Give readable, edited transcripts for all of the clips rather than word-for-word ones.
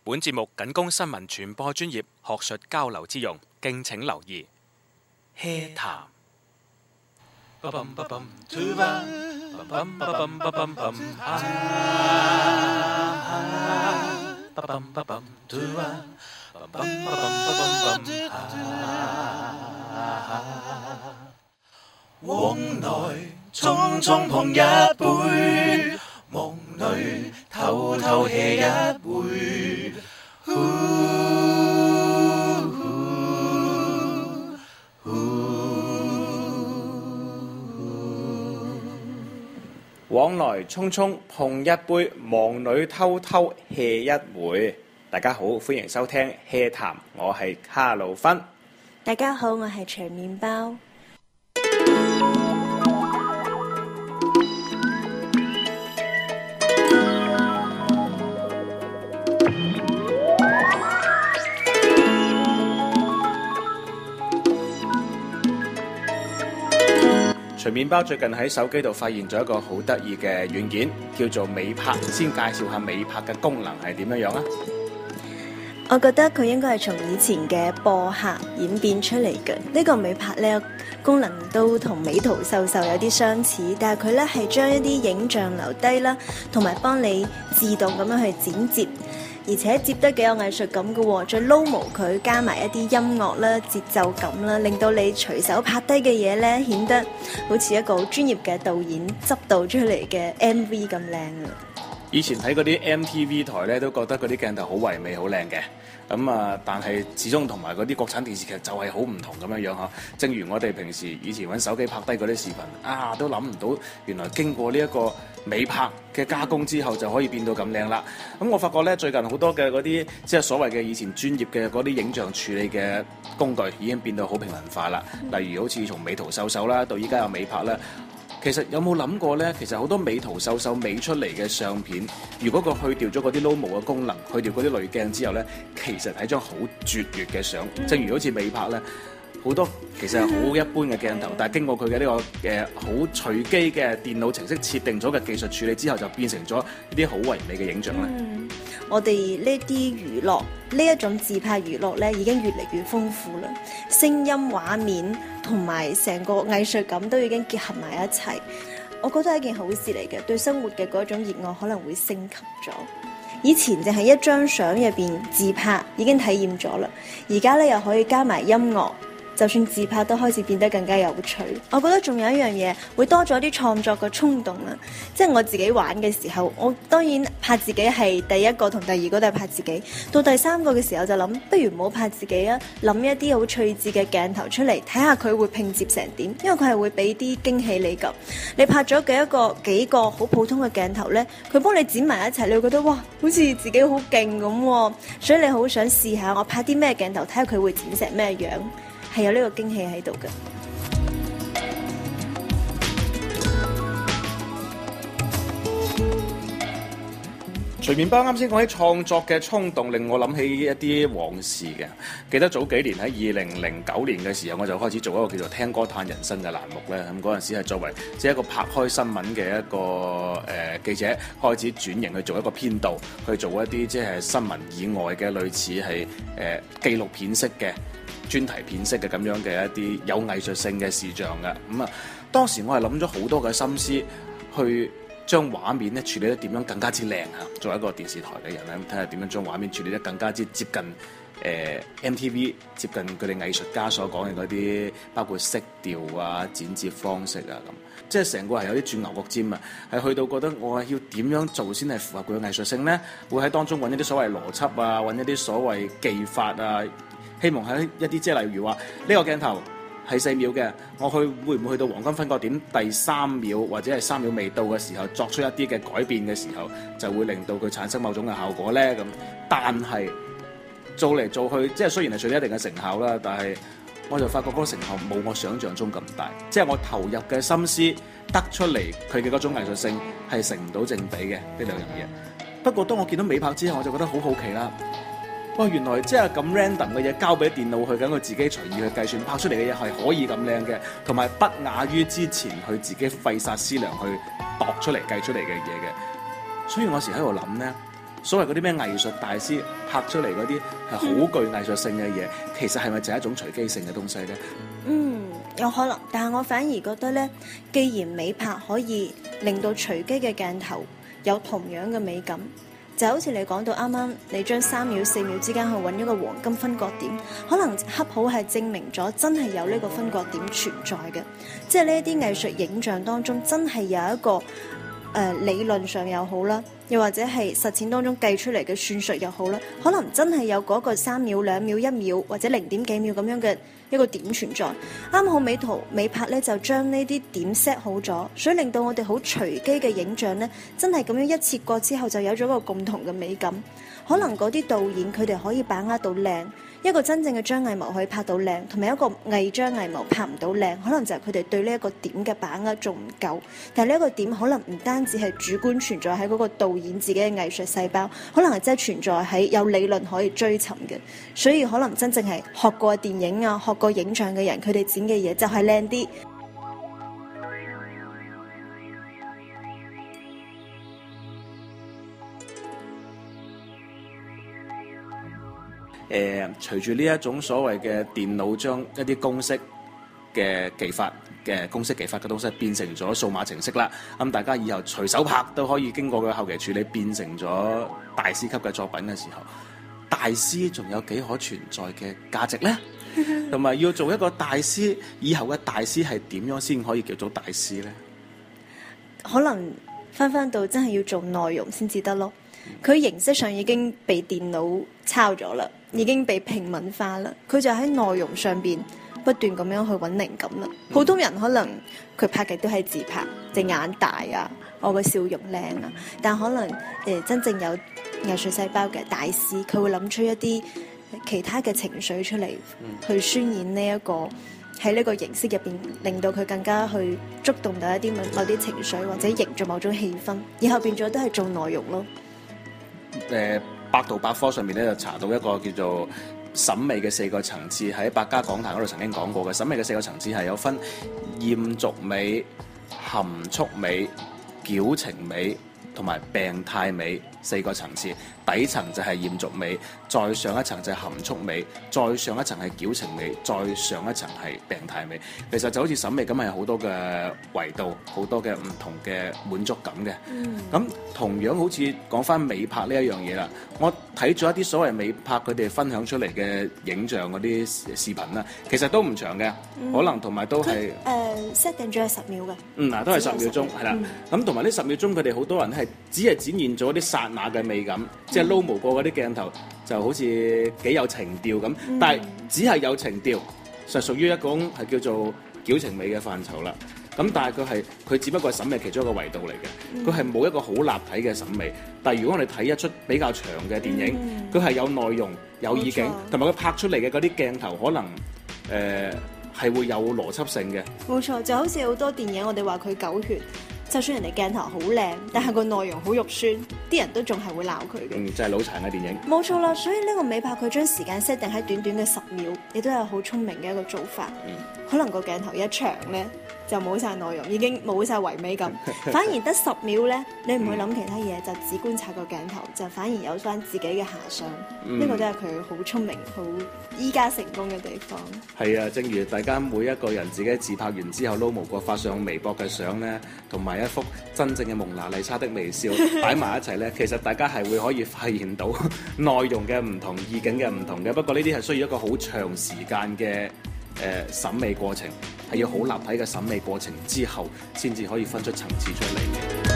本節目僅供新聞傳播專業學術交流之用，敬請留意。HEA 談。 往來匆匆碰一杯，夢裏偷偷 hea 一回。 往來匆匆碰一杯，忙裏偷偷 hea 一回。大家好，歡迎收聽 HEA 談，我係卡路芬。 大家好，我係長麵包。 長麵包最近喺手機度發現咗一個好得意嘅軟件，叫做美拍。先介紹下美拍嘅功能係點樣啊？ 我覺得佢應該係從以前嘅播客演變出嚟嘅。呢個美拍呢，功能都同美圖秀秀有啲相似，但係佢呢係將一啲影像留低啦，同埋幫你自動咁樣去剪接，而且接得幾有藝術感嘅喎。再撈模佢，加埋一啲音樂啦、節奏感啦，令到你隨手拍低嘅嘢呢，顯得好似一個好專業嘅導演執導出嚟嘅 MV 咁靚啊！ 以前睇嗰啲 MTV 台咧，都覺得嗰啲鏡頭好唯美、好靚嘅。但係始終同埋嗰啲國產電視劇就係好唔同咁樣嚇。正如我哋平時以前揾手機拍低嗰啲視頻，都諗唔到原來經過呢一個美拍嘅加工之後就可以變到咁靚啦。我發覺咧，最近好多嘅嗰啲即係所謂嘅以前專業嘅嗰啲影像處理嘅工具已經變到好平民化啦。例如好似從美圖秀秀啦，到依家有美拍啦。其實有冇諗過呢？其實好多美圖秀秀美出嚟嘅相片，如果佢去掉咗嗰啲撈模嘅功能，去掉嗰啲濾鏡之後呢，其實係張好絕悅嘅相。正如好似美拍呢，好多其實係好一般嘅鏡頭，但係經過佢嘅呢個好隨機嘅電腦程式設定咗嘅技術處理之後，就變成咗一啲好唯美嘅影像啦。 我哋呢啲娛樂，呢一種自拍娛樂呢，已經越嚟越豐富啦。聲音、畫面同埋成個藝術感都已經結合埋一齊。我覺得係一件好事嚟嘅，對生活嘅嗰種熱愛可能會升級咗。以前淨係一張相入邊自拍已經體驗咗啦，而家呢又可以加埋音樂。就算自拍都開始變得更加有趣。我覺得仲有一樣嘢會多咗啲創作嘅衝動啦。即係我自己玩嘅時候，我當然拍自己係第一個同第二個都係拍自己。到第三個嘅時候就諗，不如唔好拍自己啊，諗一啲好趣致嘅鏡頭出嚟，睇下佢會拼接成點。因為佢係會俾啲驚喜你㗎。你拍咗幾個好普通嘅鏡頭呢，佢幫你剪埋一齊，你會覺得哇，好似自己好勁咁喎。所以你好想試下我拍啲咩鏡頭，睇下佢會剪成咩樣。係有呢個驚喜喺度嘅。 隨麵包啱先講起創作嘅衝動，令我諗起一啲往事嘅。記得早幾年喺2009年嘅時候，我就開始做一個叫做聽歌嘆人生嘅欄目咧。咁嗰陣時係作為一個拍開新聞嘅一個記者，開始轉型去做一個編導，去做一啲即係新聞以外嘅類似係紀錄片式嘅專題片式嘅咁樣嘅一啲有藝術性嘅視像嘅。當時我係諗咗好多嘅心思去將畫面咧處理得點樣更加之靚嚇。作為一個電視台嘅人咧，睇下點樣將畫面處理得更加之接近MTV， 接近佢哋藝術家所講嘅嗰啲，包括色調啊、剪接方式啊咁。即係成個係有啲轉牛角尖啊！係去到覺得我係要點樣做先係符合佢嘅藝術性呢？會喺當中揾一啲所謂邏輯啊，揾一啲所謂技法啊。希望喺一啲即係例如話呢個鏡頭係4秒嘅，我會唔會去到黃金分割點第3秒或者係3秒未到嘅時候作出一啲嘅改變嘅時候，就會令到佢產生某種嘅效果呢？咁。但係做嚟做去，即係雖然係取得一定嘅成效啦，但係我就發覺嗰個成效冇我想象中咁大，即係我投入嘅心思得出嚟佢嘅嗰種藝術性係成唔到正比嘅呢兩樣嘢。不過當我見到美拍之後，我就覺得好好奇啦。哇！原來即係咁 random 嘅嘢交俾電腦去，等佢自己隨意去計算，拍出嚟嘅嘢係可以咁靚嘅，同埋不亞於之前佢自己費煞思量去度出嚟計出嚟嘅嘢嘅。所以我時喺度諗呢， 所謂嗰啲咩藝術大師拍出嚟嗰啲係好具藝術性嘅嘢，其實係咪就係一種隨機性嘅東西呢？ 有可能，但係我反而覺得呢，既然美拍可以令到隨機嘅鏡頭有同樣嘅美感，就好似你講到啱啱，你將3秒4秒之間去揾一個黃金分割點，可能恰好係證明咗真係有呢個分割點存在嘅，即係呢一啲藝術影像當中真係有一個理論上又好啦，又或者係實踐當中計出嚟嘅算術又好啦，可能真係有嗰個3秒、2秒、1秒或者0點幾秒咁樣嘅一個點存在。啱好美拍咧就將呢啲點 set 好咗，所以令到我哋好隨機嘅影像咧，真係咁樣一切過之後就有咗個共同嘅美感。可能嗰啲導演佢哋可以把握到靚，一個真正嘅張藝謀可以拍到靚，同埋一個偽張藝謀拍唔到靚，可能就係佢哋對呢一個點嘅把握仲唔夠。但係呢一個點可能唔單止係主觀存在喺嗰個導演自己嘅藝術細胞，可能係真係存在喺有理論可以追尋嘅。所以可能真正係學過電影啊、學過影像嘅人，佢哋剪嘅嘢就係靚啲。 隨住呢一種所謂嘅電腦將一啲公式嘅技法嘅東西變成咗數碼程式啦，咁大家以後隨手拍都可以經過佢後期處理變成咗大師級嘅作品嘅時候，大師仲有幾可存在嘅價值呢？同埋要做一個大師，以後嘅大師係點樣先可以叫做大師呢？ 可能翻到真係要做內容先至得咯。佢形式上已經被電腦抄咗啦，已經被平民化啦。佢就喺內容上邊不斷咁樣去揾靈感啦。普通人可能佢拍嘅都係自拍，隻眼大啊，我個笑容靚啊。但可能真正有藝術細胞嘅大師，佢會諗出一啲其他嘅情緒出嚟，去渲染呢一個喺呢個形式入邊，令到佢更加去觸動到一啲某啲情緒，或者營造某種氣氛，以後變咗都係做內容咯。 百度百科上面咧就查到一個叫做審美嘅4個層次，喺百家講壇嗰度曾經講過嘅。審美嘅4個層次係有分豔俗美、含蓄美、矯情美同埋病態美4個層次。底層就係豔俗美，再上一層就係含蓄美，再上一層係矯情美，再上一層係病態美。其實就好似審美咁，係好多嘅維度，好多嘅唔同嘅滿足感嘅。咁同樣好似講翻美拍呢一樣嘢啦，我睇咗一啲所謂美拍佢哋分享出嚟嘅影像嗰啲視頻啦，其實都唔長嘅，可能同埋都係 set 定咗係10秒嘅。 都係10秒鐘，係啦。咁同埋呢10秒鐘，佢哋好多人係只係展現咗啲剎那嘅美感。即係撈模過嗰啲鏡頭就好似幾有情調咁，但係只係有情調，就屬於一種係叫做矯情美嘅範疇啦。咁但係佢只不過係審美其中一個維度嚟嘅，佢係冇一個好立體嘅審美。但係如果我哋睇一出比較長嘅電影，佢係有內容、有意境，同埋佢拍出嚟嘅嗰啲鏡頭可能係會有邏輯性嘅。冇錯， 就好似好多電影我哋話佢狗血。就算人哋鏡頭好靚，但係個內容好肉酸，啲人都仲係會鬧佢嘅。 就係腦殘嘅電影。 冇錯啦，所以呢個美拍佢將時間 set 定喺短短嘅10秒，亦都係好聰明嘅一個做法。可能個鏡頭一長呢，就冇晒內容，已經冇晒唯美感，反而得10秒呢，你唔會諗其他嘢，就只觀察個鏡頭，就反而有翻自己嘅遐想。呢個都係佢好聰明、好依家成功嘅地方。 係啊，正如大家每一個人自己自拍完之後撈模過發上微博嘅相呢，同埋一幅真正嘅蒙娜麗莎的微笑擺埋一齊呢，其實大家係會可以發現到內容嘅唔同、意境嘅唔同嘅。不過呢啲係需要一個好長時間嘅審美過程，係要好立體嘅審美過程之後，先至可以分出層次出嚟嘅。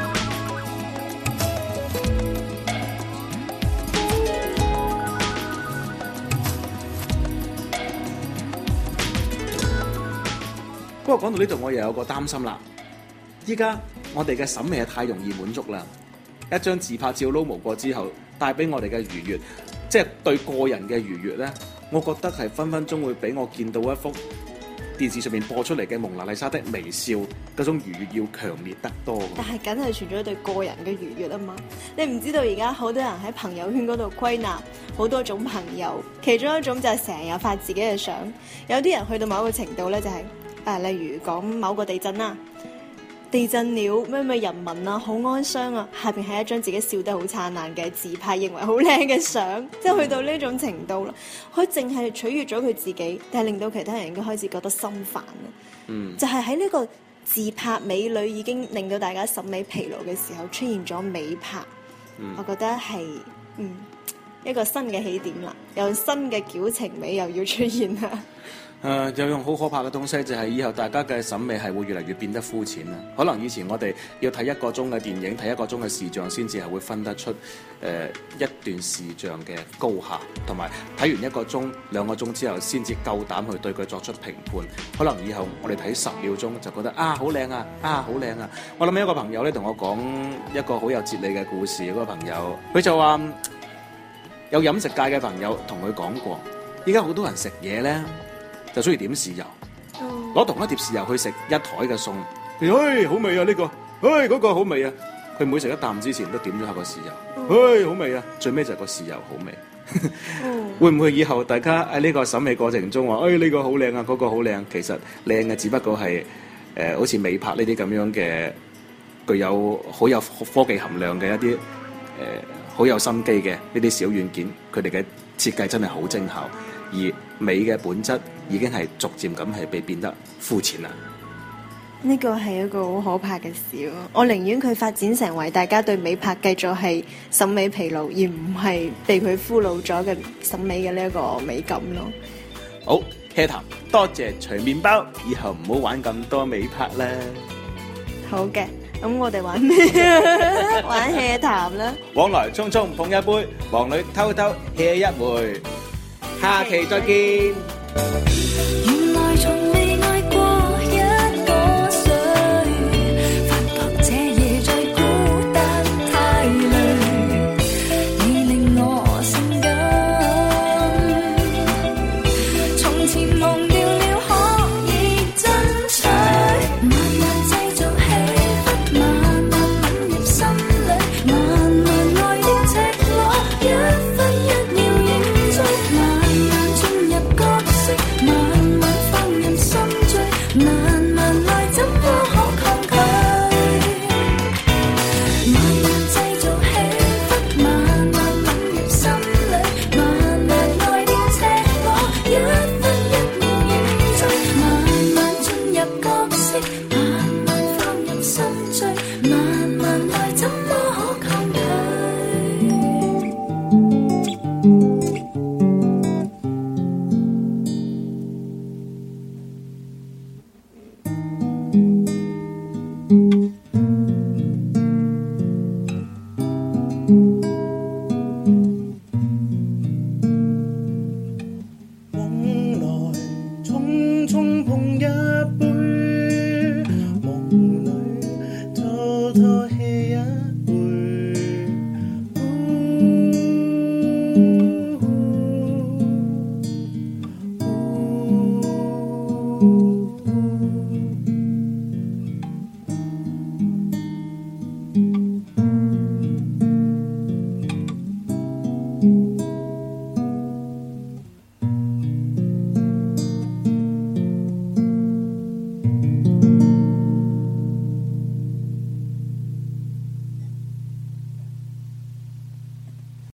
不過講到呢度，我又有個擔心啦。依家我哋嘅審美係太容易滿足啦，一張自拍照撈模過之後，帶俾我哋嘅愉悅，即係對個人嘅愉悅呢，我覺得係分分鐘會俾我見到一幅電視上面播出嚟嘅蒙娜麗莎的微笑嗰種愉悅要強烈得多。但係梗係存咗對個人嘅愉悅啊嘛！你唔知道而家好多人喺朋友圈嗰度歸納好多種朋友，其中一種就係成日發自己嘅相，有啲人去到某一個程度呢，就係例如講某個地震啦。 地震了咩人民啊，好哀傷啊，下邊係一張自己笑得好燦爛嘅自拍，認為好靚嘅相，即係去到呢種程度啦。佢淨係取悅咗佢自己，但係令到其他人已經開始覺得心煩啦。就係喺呢個自拍美女已經令到大家審美疲勞嘅時候，出現咗美拍。我覺得係一個新嘅起點啦，有新嘅矯情美又要出現啦。 有樣好可怕嘅東西，就係以後大家嘅審美係會越嚟越變得膚淺啦。可能以前我哋要睇1個鐘嘅電影，睇1個鐘嘅視像，先至係會分得出一段視像嘅高下，同埋睇完1個鐘、2個鐘之後，先至夠膽去對佢作出評判。可能以後我哋睇10秒鐘就覺得好靚啊，好靚啊！我諗起一個朋友咧，同我講一個好有哲理嘅故事。嗰個朋友佢就話有飲食界嘅朋友同佢講過，依家好多人食嘢咧，就中意點豉油，攞同一碟豉油去食一台嘅餸。好味啊呢個，嗰個好味啊！佢每食一啖之前都點咗下個豉油，好味啊！最尾就係個豉油好味。會唔會以後大家喺呢個審美過程中話，呢個好靚啊，嗰個好靚？其實靚嘅只不過係好似美拍呢啲咁樣嘅，具有好有科技含量嘅一啲好有心機嘅呢啲小軟件，佢哋嘅設計真係好精巧。而美嘅本質已經係逐漸咁係被變得膚淺啦。 呢個係一個好可怕嘅事咯。我寧願佢發展成為大家對美拍繼續係審美疲勞，而唔係被佢俘虜咗嘅審美嘅呢一個美感咯。 好，hea 談，多謝隨麵包，以後唔好玩咁多美拍啦。 好嘅，咁我哋玩咩？玩 hea 談啦。 往來匆匆碰一杯，忙裏偷偷 hea 一回。下期再見。 原來從未愛過一個誰，發覺這夜再孤單太累，你令我性感，從前忘掉了可以爭取，慢慢製造氣氛，慢慢吻入心裏，慢慢愛的赤裸，一分一秒影追，慢慢放任心醉，慢慢愛怎麼可抗拒？慢慢製造氣氛，慢慢吻入心裏，慢慢愛的赤裸，一分一秒影追，慢慢進入角色，慢慢放任心醉，慢慢愛怎麼可抗拒？ 匆匆碰一杯，夢裏偷偷 hea 一